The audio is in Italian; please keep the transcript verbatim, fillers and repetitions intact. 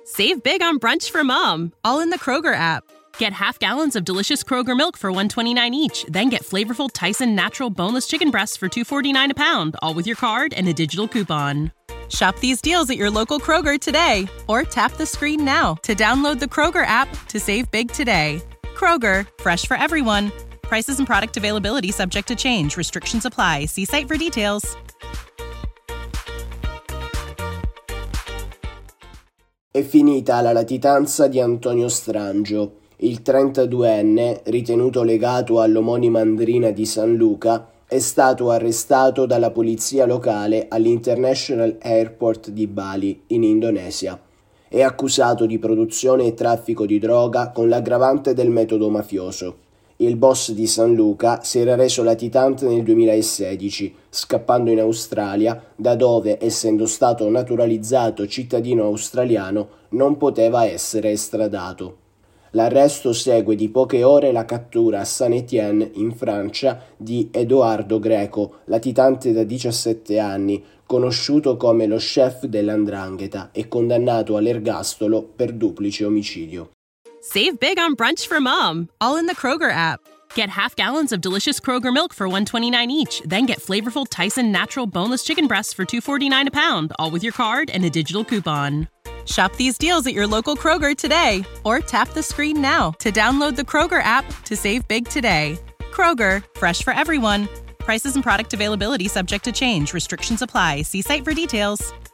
Save big on brunch for mom, all in the Kroger app. Get half gallons of delicious Kroger milk for one dollar and twenty-nine cents each. Then get flavorful Tyson natural boneless chicken breasts for two dollars and forty-nine cents a pound, all with your card and a digital coupon. Shop these deals at your local Kroger today, or tap the screen now to download the Kroger app to save big today. Kroger, fresh for everyone. Prices and product availability subject to change. Restrictions apply. See site for details. È finita la latitanza di Antonio Strangio. Il trentaduenne, ritenuto legato all'omonima Andrina di San Luca, è stato arrestato dalla polizia locale all'International Airport di Bali, in Indonesia. È accusato di produzione e traffico di droga con l'aggravante del metodo mafioso. Il boss di San Luca si era reso latitante nel duemilasedici, scappando in Australia, da dove, essendo stato naturalizzato cittadino australiano, non poteva essere estradato. L'arresto segue di poche ore la cattura a Saint-Étienne, in Francia, di Edoardo Greco, latitante da diciassette anni, conosciuto come lo chef dell'Andrangheta e condannato all'ergastolo per duplice omicidio. Save big on brunch for mom, all in the Kroger app. Get half gallons of delicious Kroger milk for one dollar and twenty-nine cents each. Then get flavorful Tyson natural boneless chicken breasts for two dollars and forty-nine cents a pound, all with your card and a digital coupon. Shop these deals at your local Kroger today, or tap the screen now to download the Kroger app to save big today. Kroger, fresh for everyone. Prices and product availability subject to change. Restrictions apply. See site for details.